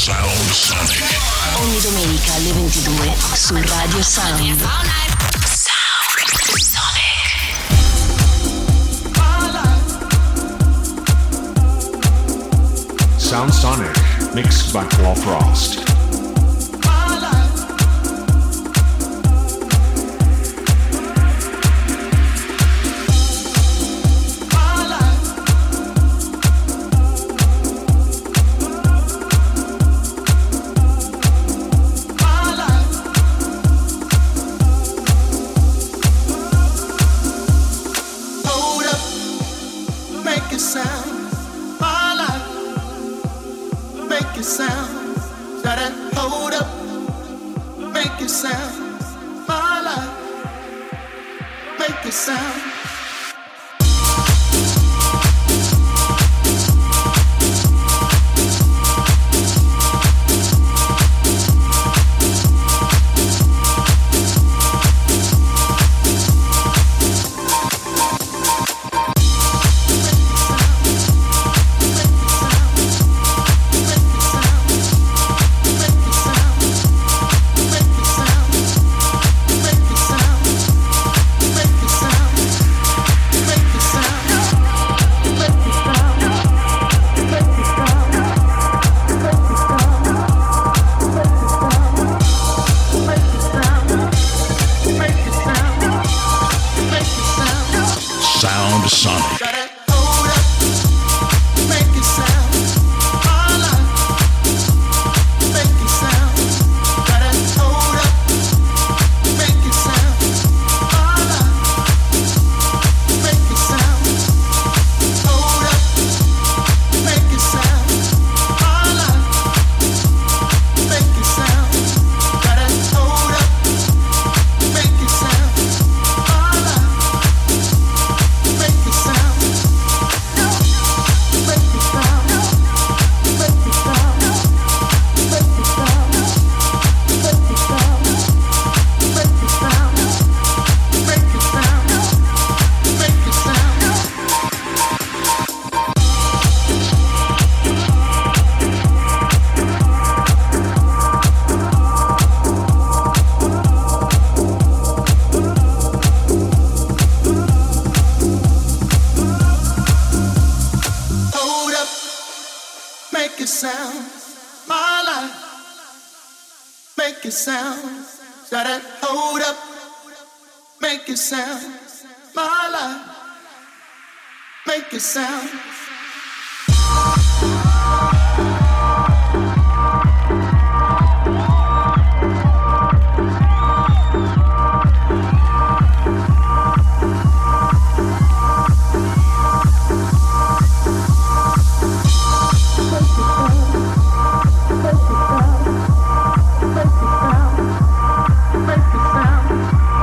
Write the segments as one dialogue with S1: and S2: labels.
S1: Sound Sonic.
S2: Ogni domenica alle 22 su Radio Sound. Sound Sonic.
S3: Sound Sonic, mixed by Paul Frost.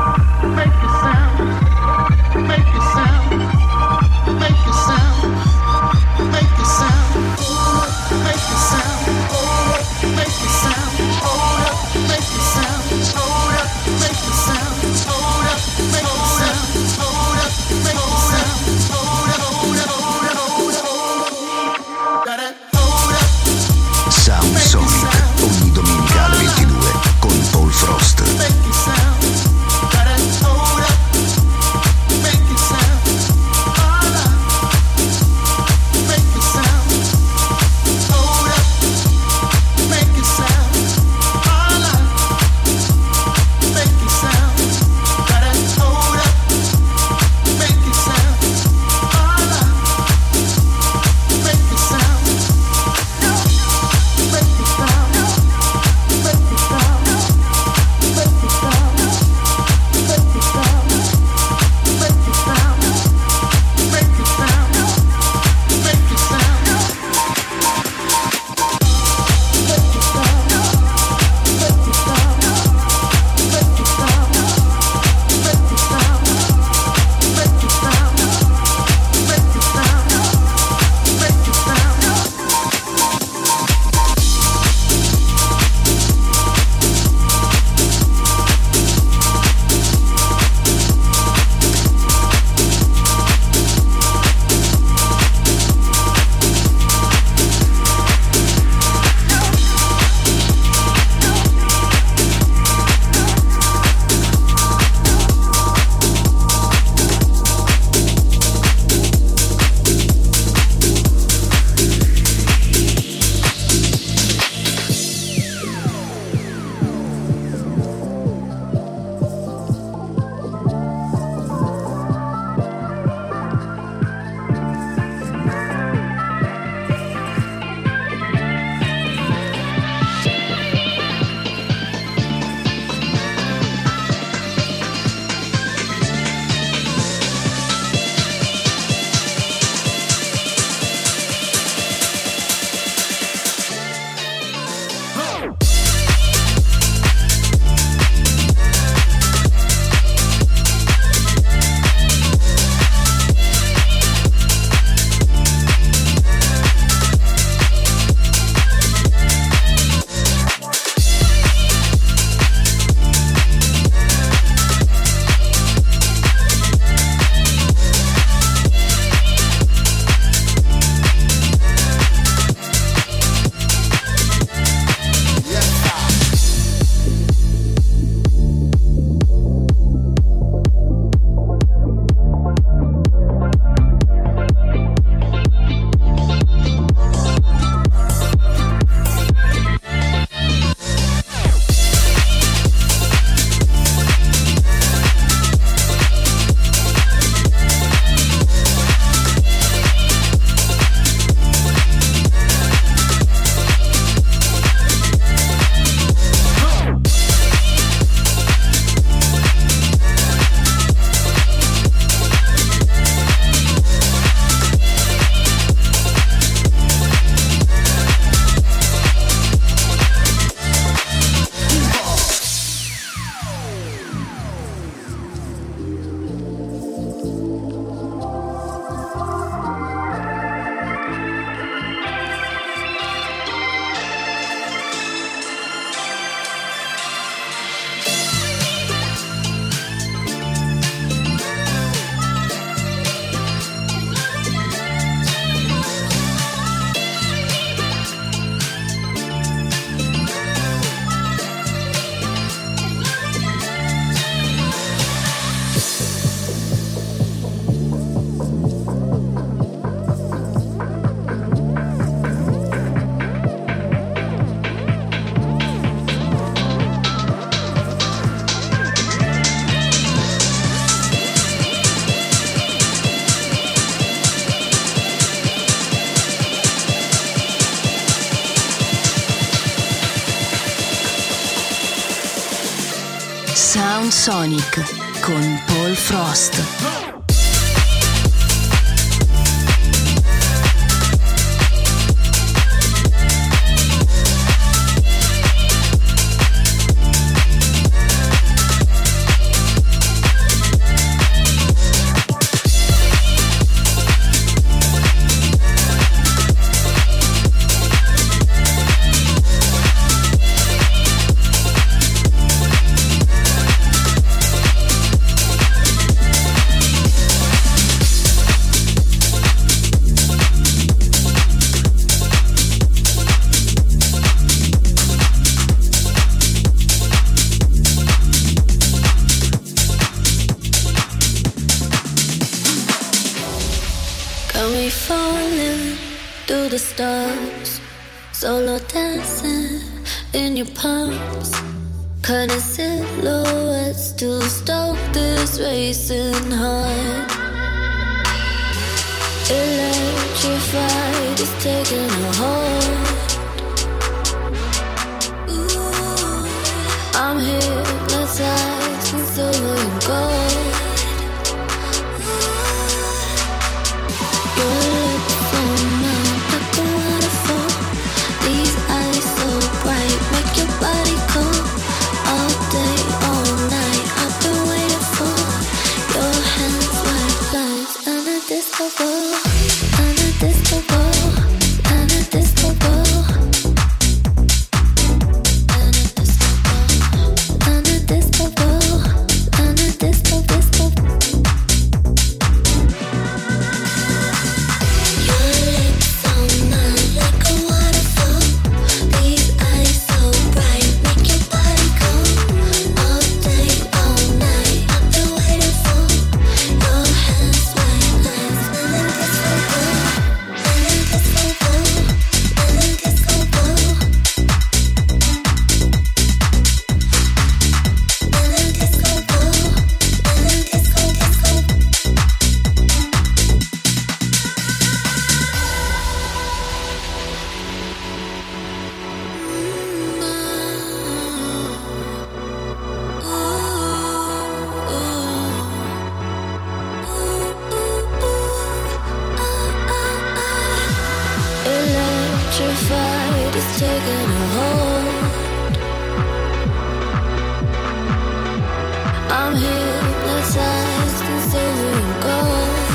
S4: Make it sound.
S2: Sound Sonic con Paul Frost.
S1: Stars, solo dancing in your palms, cutting silhouettes to stop this racing heart. Electrified, it's taking a hold. Ooh, I'm hypnotized in silver and gold. Your lips on mine like a waterfall. These eyes so bright make your body cold. All day, all night, I've been waiting for your hands like lights and a disco ball, and a disco ball, and a disco ball, and a disco ball, and a disco ball, and a disco disco. Your lips on mine like a waterfall. These eyes so bright make your body cold. All day, all night, I've been waiting for your hands like lights and a disco ball, and a disco ball, and a disco ball, and a disco ball, and a disco disco. Electrified, it's taking a hold. I'm hypnotized in silver and gold.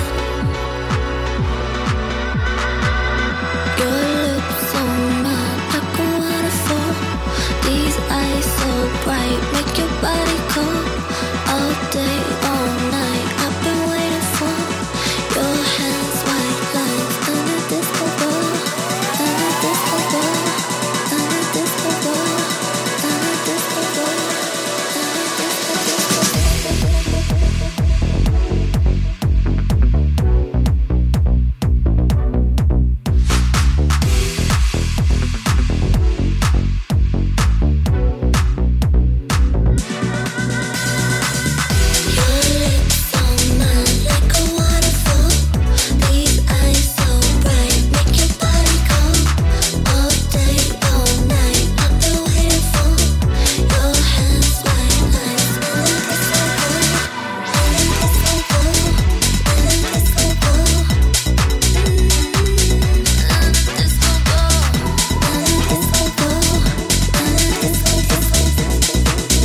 S1: Your lips on mine like a waterfall. These eyes so bright make your body cold. All day, all night, I've been waiting for your hands white lights and a disco ball, and a disco ball, and a disco ball, and a disco ball, Your lips on mine like a waterfall. These eyes so bright make your body cold. All day, all night, I've been waiting for your hands white lights and a disco ball, and a disco ball, and a disco ball, and a disco ball, and a disco ball, and a disco disco.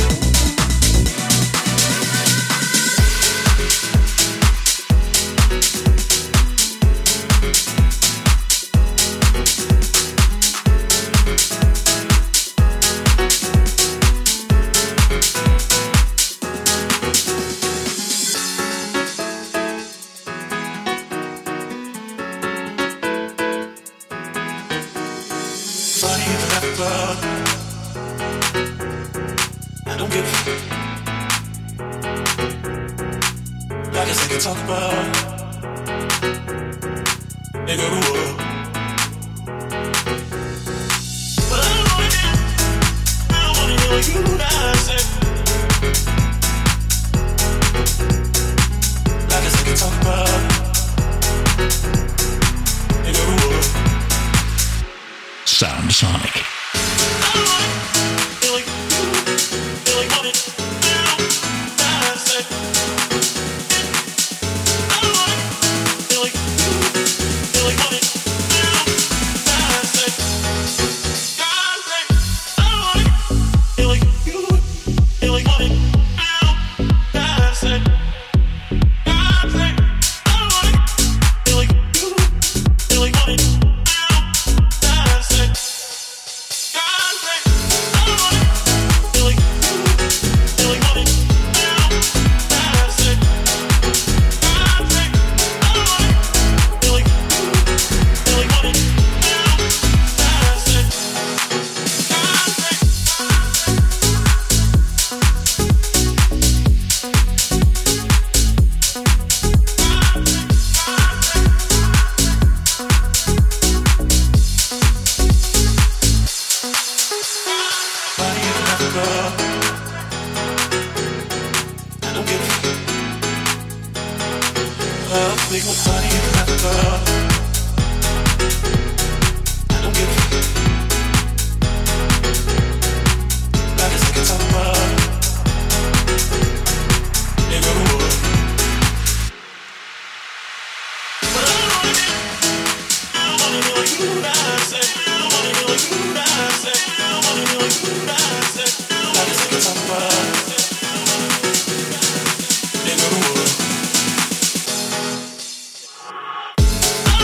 S4: Funny in the rap club. I don't give a like I said, can talk about nigga who up. But I don't wanna hear what you guys say. Like I said, can talk about nigga who up.
S3: Sound Sonic.
S4: I don't wanna feel like you, feel like what it feel. I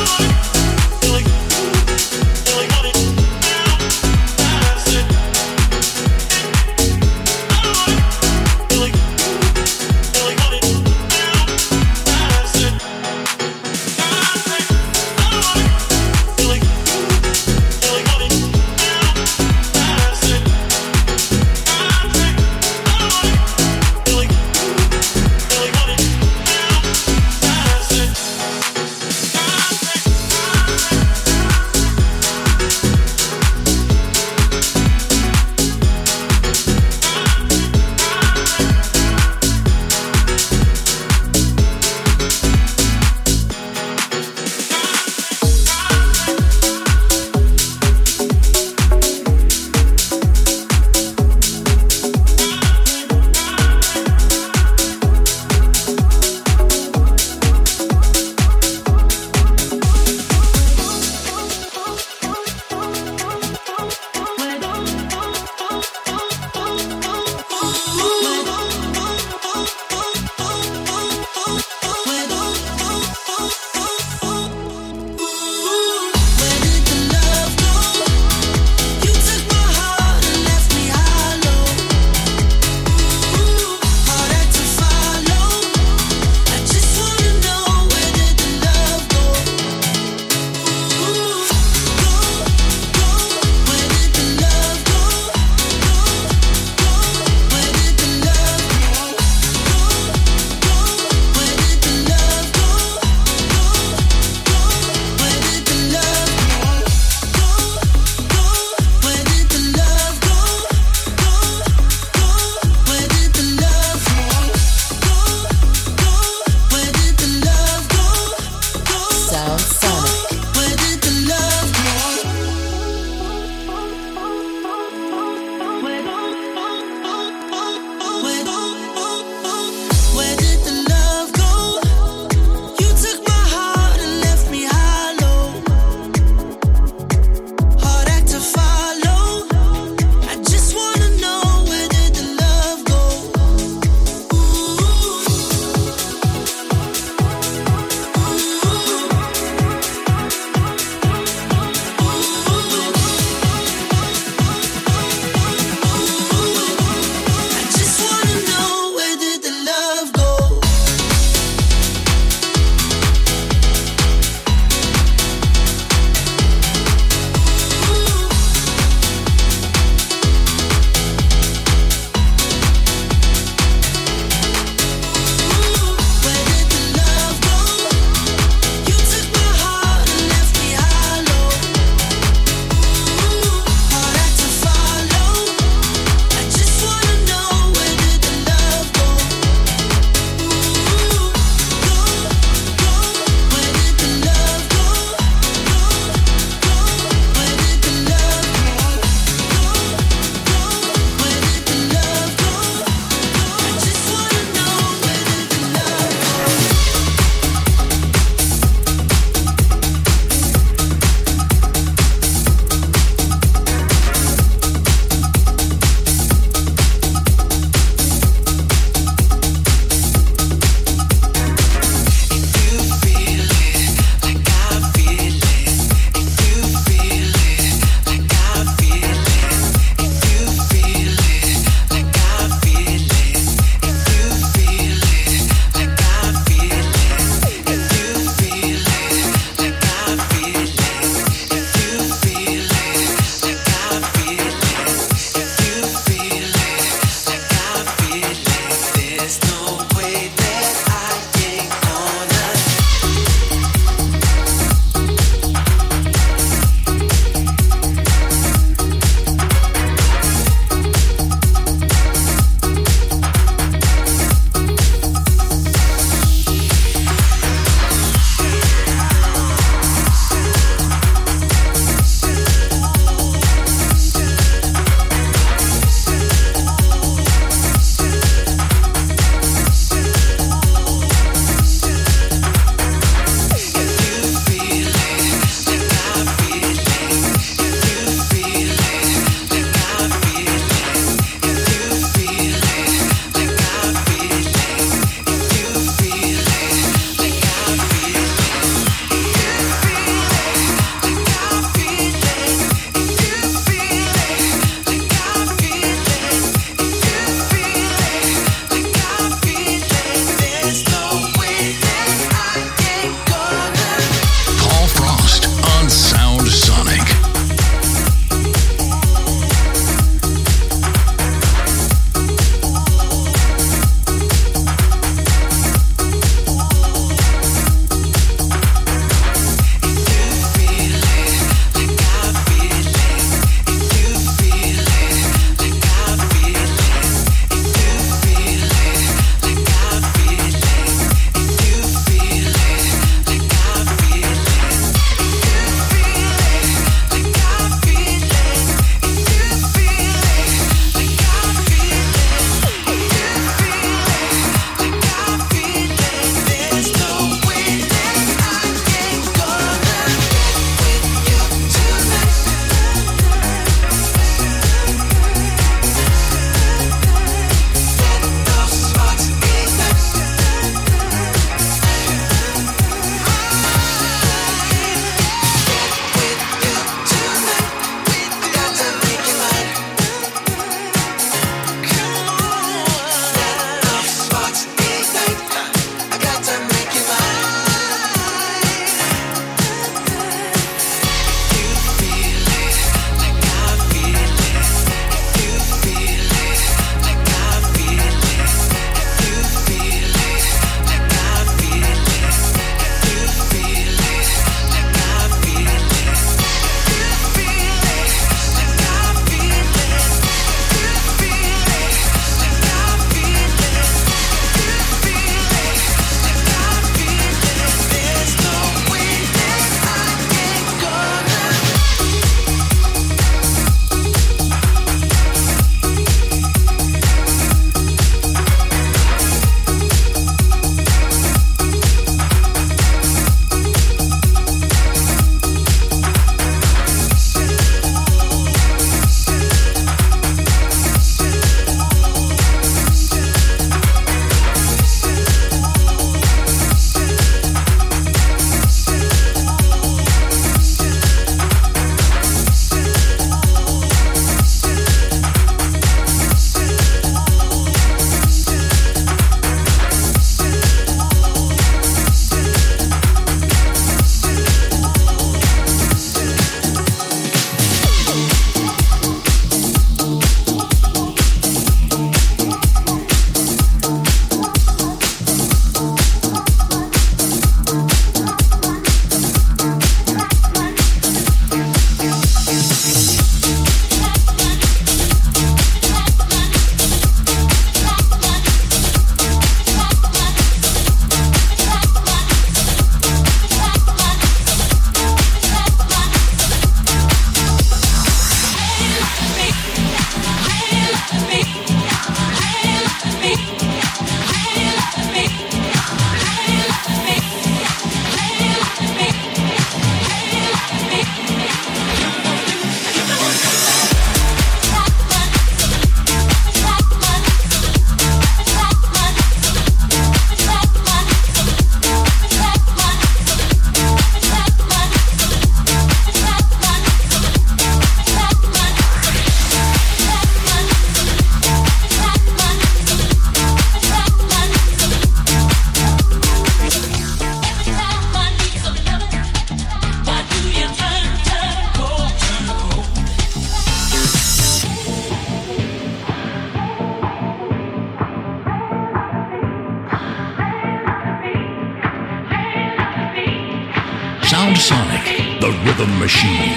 S5: Sound Sonic, the rhythm machine.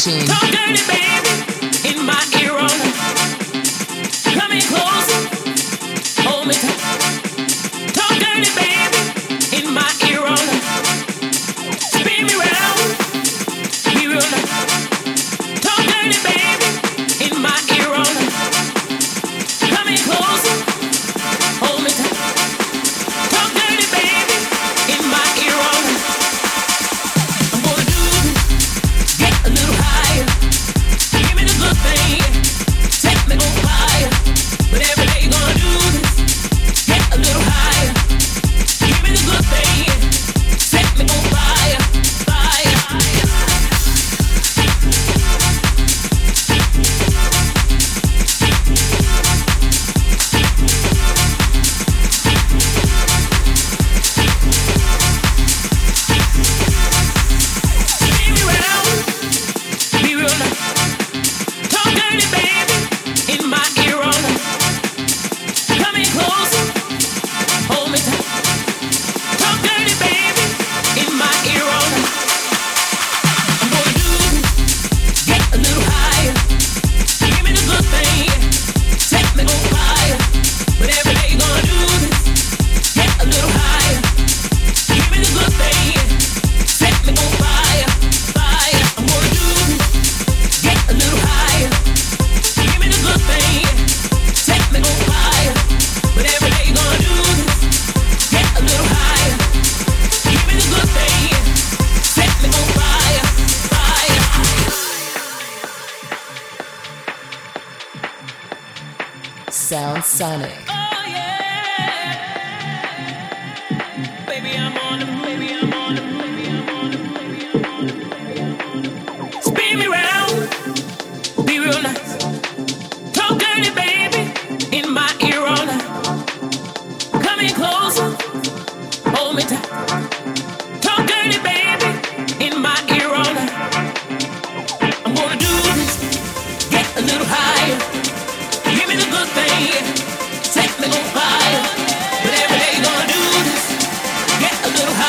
S2: Machine.
S4: Talk dirty, baby, in my ear all night. Come in close, hold me tight. Talk dirty, baby, in my ear all night. Spin me round, be real nice. Talk dirty, baby, in my ear all night. Come in close, hold me tight. Talk dirty, baby, in my ear all night. I'm gonna do this, get a little higher. Give me the good thing, set me on fire. Whatever they gonna do this, get a little higher. Give me the good thing, set me on fire, fire. Spin me round, be real nice. Talk dirty, baby, in my ear all night. Come in closer, hold me tight. Talk dirty, baby, in my ear all night. I'm gonna do this, get a little higher. Give me the good thing, set me on fire. Whatever they gonna do this, get a little higher. Give me the good thing, set me on fire, fire. I'm gonna do this, get a little higher. Give me the good thing, set me on fire. Whatever they gonna do this, get a little higher. Give me the good thing, set me on fire, fire.
S2: Sound Sonic.
S4: Oh yeah, baby I'm on it, baby I'm on it, baby I'm on it, baby I'm on it. Spin me round, be real nice. Talk dirty, baby, in my ear all night. Come in closer, hold me tight. Talk dirty, baby, in my ear all night. I'm gonna do this, get a little higher. Give me the good thing, set me on fire. Whatever they gonna do this, get a little higher.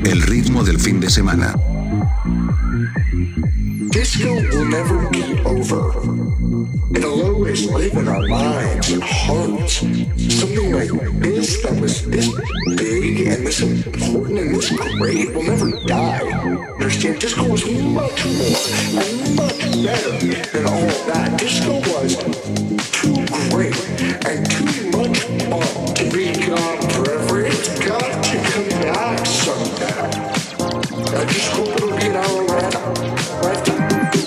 S6: El ritmo del fin de semana.
S7: Disco will never be over. It'll always live in our minds and hearts. Something like this that was this big and this important and this great will never die. Understand? Disco was much more and much better than all that. Disco was too great and too much fun to be gone forever. It's got to come back someday. I just hope it'll be in our lifetime.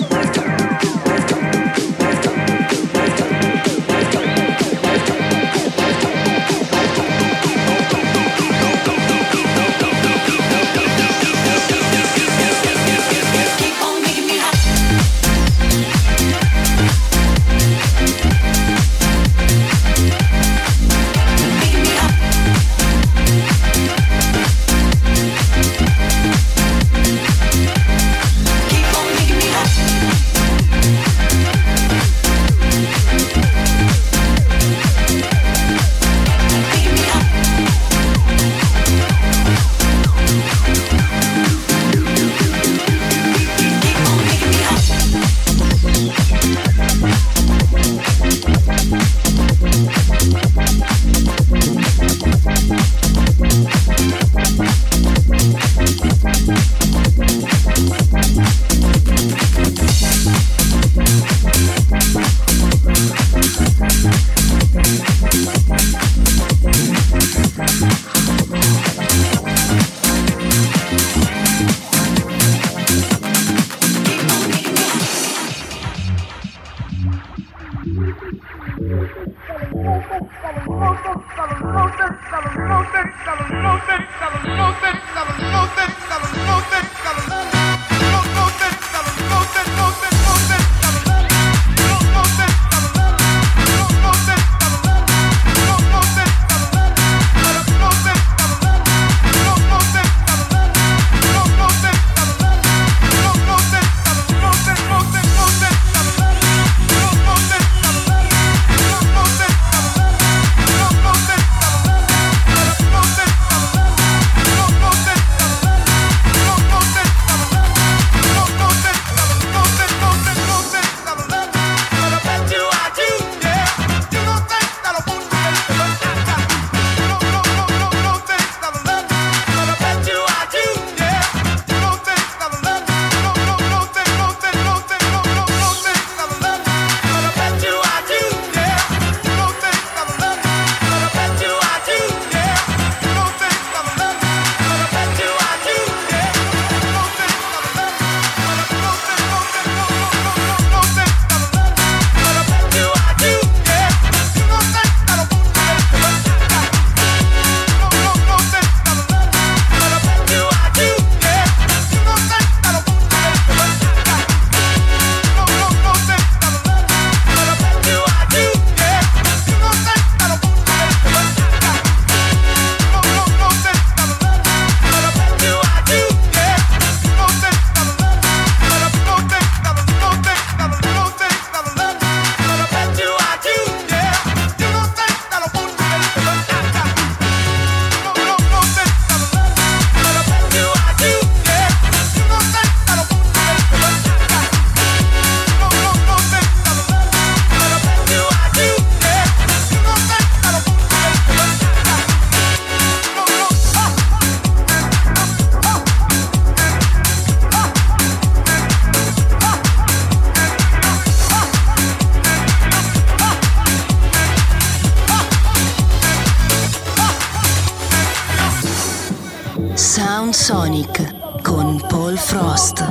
S2: Sound Sonic con Paul Frost.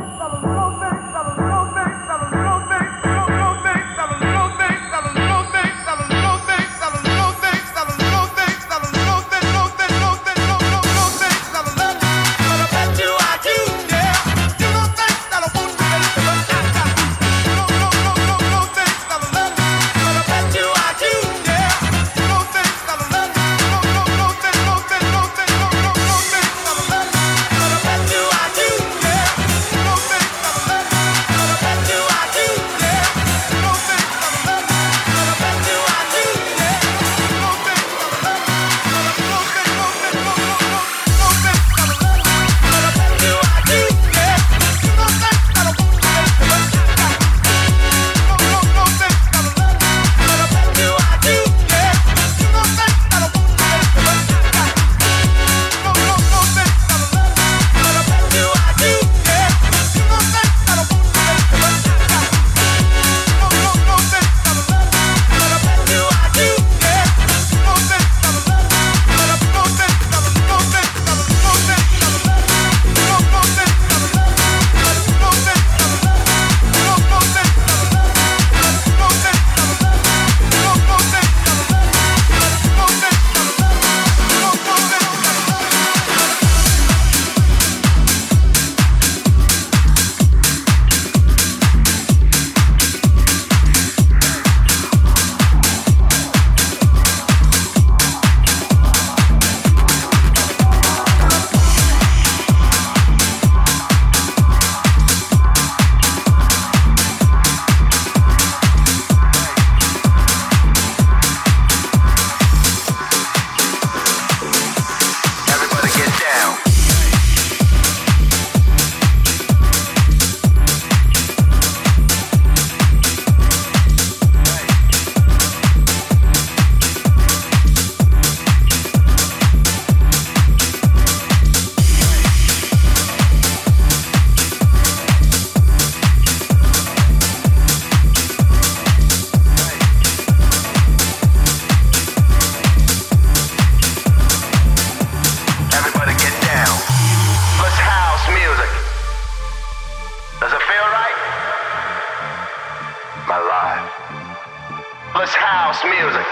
S8: Let's house music.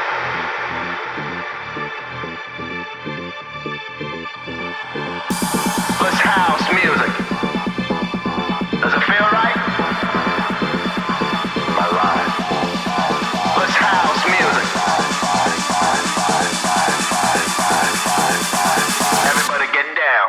S8: Let's house music. Does it feel right? My life. Let's house music. Everybody get down.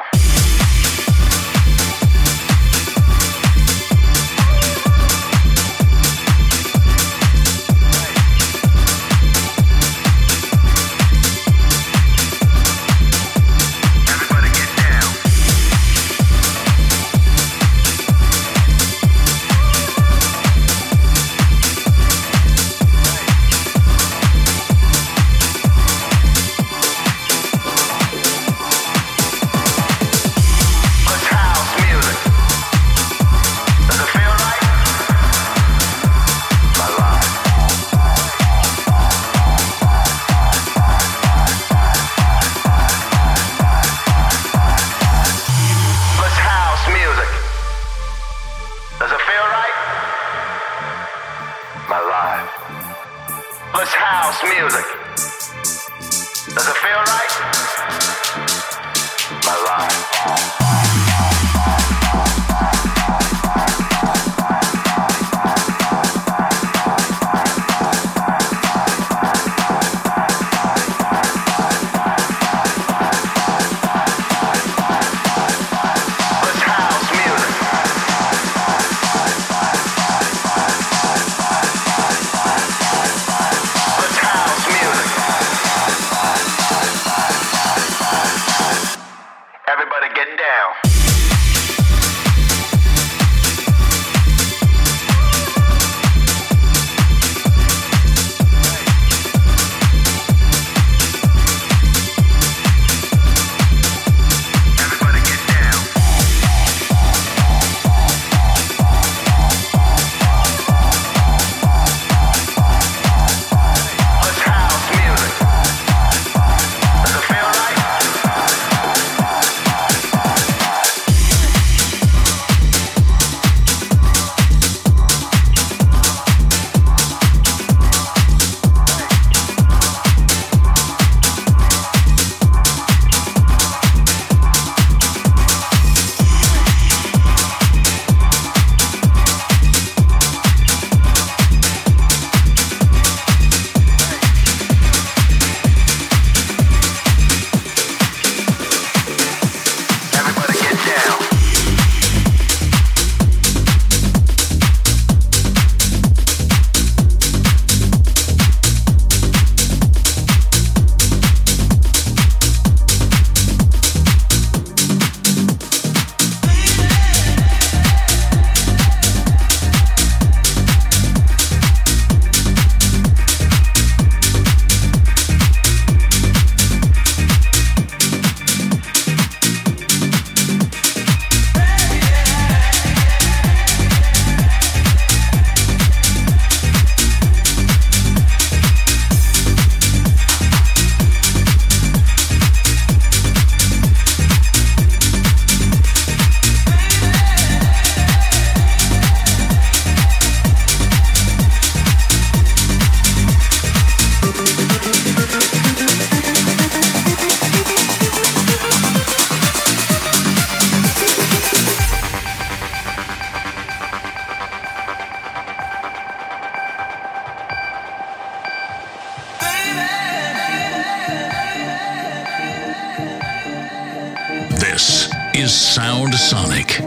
S5: This is Sound Sonic.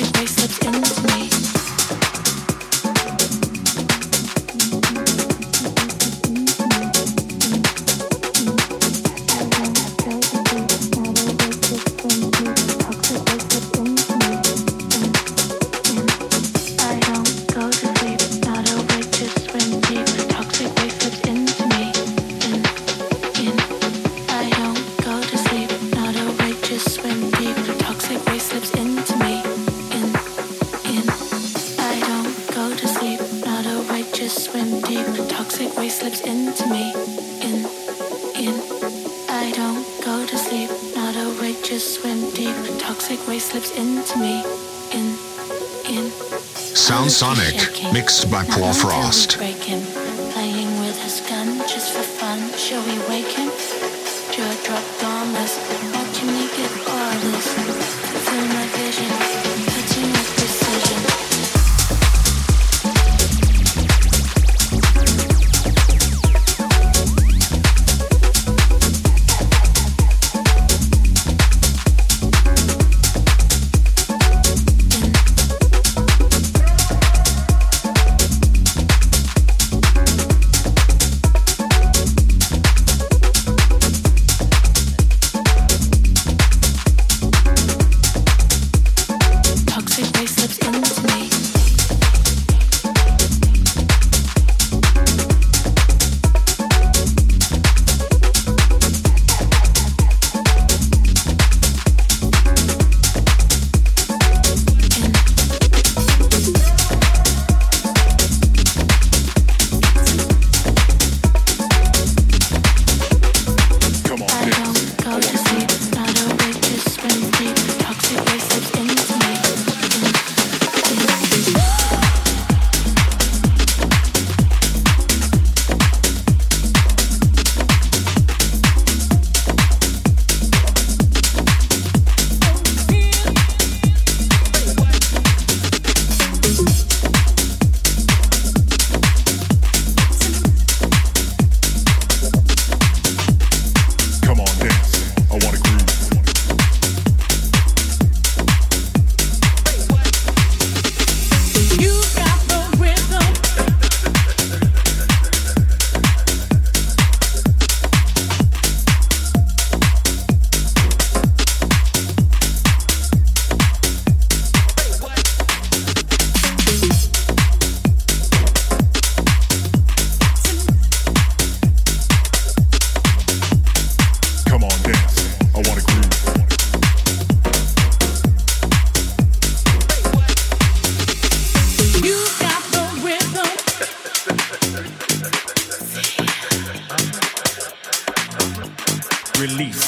S3: Sound Sonic, mixed by Paul Frost.
S1: Playing with his gun just for fun. Shall we wake him? Jaw dropped on us, watching me get orders. Feel my vision, touching with precision.
S3: Release.